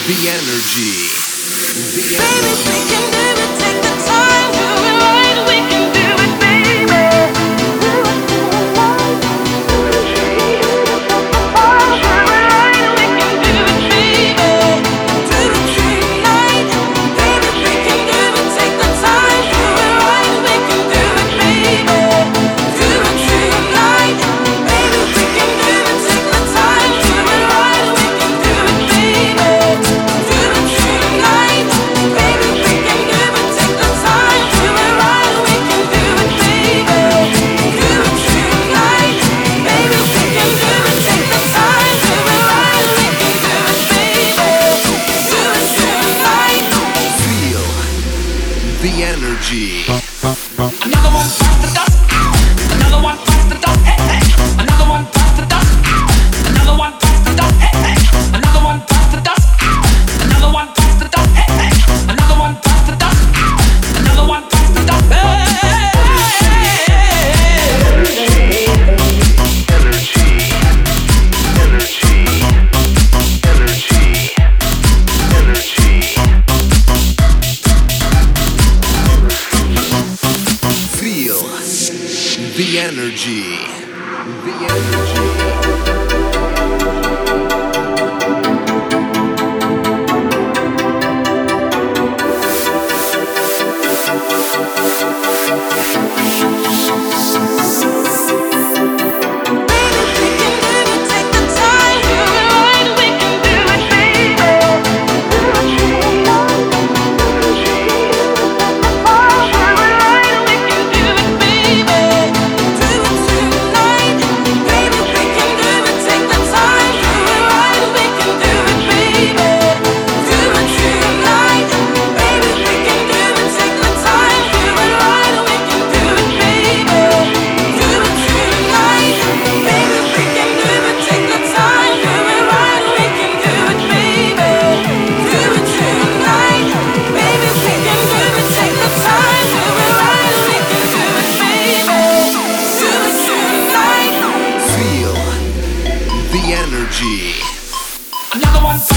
The energy. The Baby, energy. we can do it. Take the time, do it right. We can do it, baby. Do it tonight. Take the time, do it right. We can do it, baby. Do it tonight. Baby, we can do it. Take the time, do it right. We can do it, baby. Do it tonight. Baby, we can do it. Take the time, do it right. We can do it, baby. Do it tonight. Baby, we can do it. Take the time, do it right. We can do it, baby. Do it tonight. Baby, we can do it. Take the time, do it right. We can do it, baby. Do it tonight. Feel the energy. Another one bites the dust. Another one bites the dust. Hey, hey. Another one bites the dust. Another one bites the dust. Hey, hey. Another one bites the dust. Another one bites the dust. Hey, hey. Another one bites the dust. Another one bites the dust. Hey. Feel the energy. The energy. Baby, we can do it. Take the time, do it right. We can do it, baby. Do it tonight. Do it right. We can do it, baby. Do it tonight. Baby, we can do it. Take the time, do it right. We can do it, baby. Do it tonight. Baby, we can do it. Take the time, do it right. We can do it, baby. Do it tonight. Baby, we can do it. Take the time, do it right. We can do it, baby. Do it tonight. Baby, we can do it. Take the time, do it right. We can do it, baby. Do it tonight. Feel the energy. Another one.